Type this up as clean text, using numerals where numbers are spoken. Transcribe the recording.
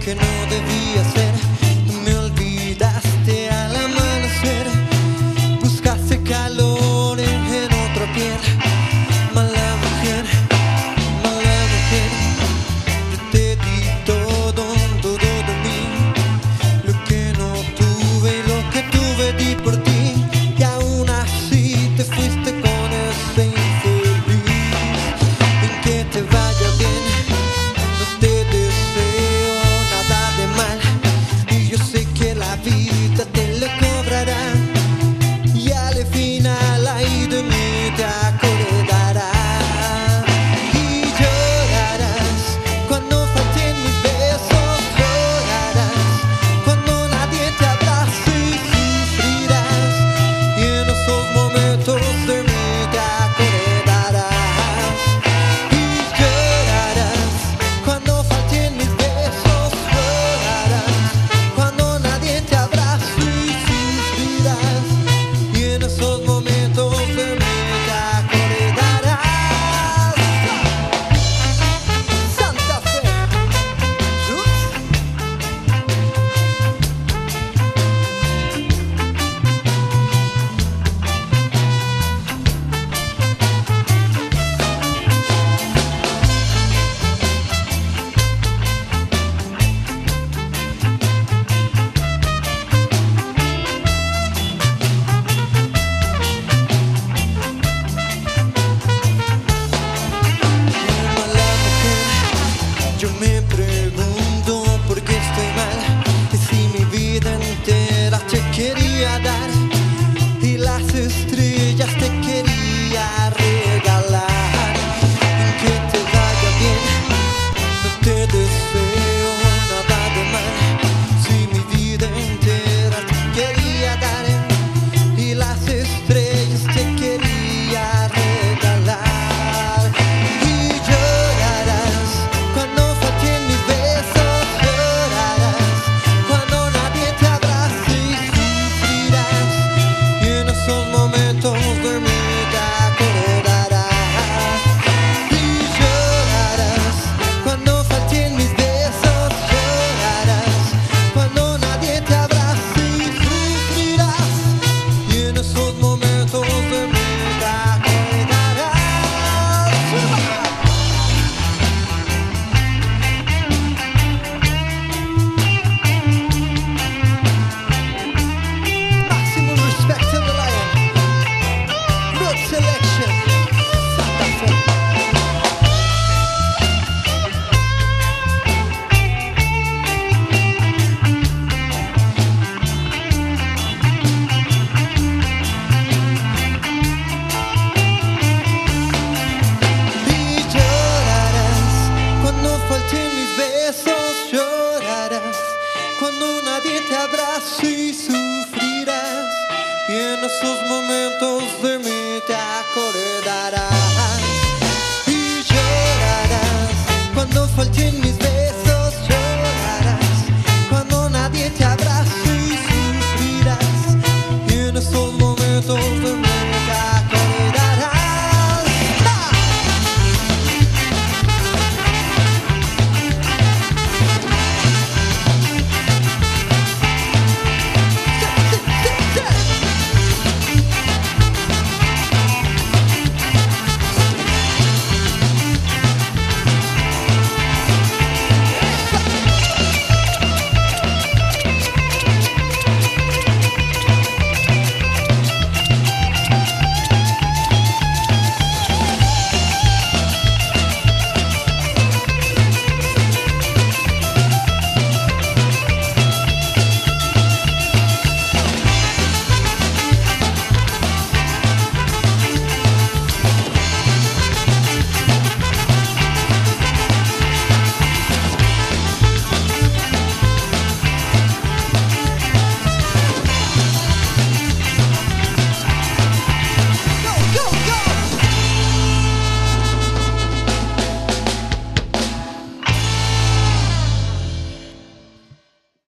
que no debía ser. Me olvidaste al amanecer, buscaste calor en otra piel. Mala mujer, yo te di todo, todo de mí. Lo que no tuve y lo que tuve di por ti. Y aún así te fuiste con ese infeliz. En que te vaya bien, no te deseo nada de mal. Y yo sé que la vida te lo cobrará. Y al final ahí de mí te acordarás. Y llorarás cuando falten mis besos. Llorarás cuando nadie te abrace y sufrirás. Y en esos momentos de mí te acordarás. Y llorarás cuando falten mis besos. Llorarás cuando nadie te abrace y sufrirás. Y en esos momentos de mí te acordarás. Santa Fe. Mala mujer, yo me pregunto por qué estoy mal. Y si mi vida entera te quería dar y las estrellas te quería regalar. En que te vaya bien, no te deseo nada de mal. Si mi vida entera te quería dar y las estrellas te quería regalar. Y llorarás cuando falten mis besos. Llorarás cuando nadie te abrace y sufrirás. Y en esos momentos de mí te acordarás. Y llorarás cuando falten mis besos. Llorarás cuando nadie te abrace y sufrirás. Y en esos momentos de mí te acordarás. Maximum respect to the lion. Good selection. Santa Fe. Y llorarás cuando falten mis besos. Llorarás cuando nadie te abrace y sufrirás. Y en esos momentos de mí te acordarás. Y llorarás cuando falten mis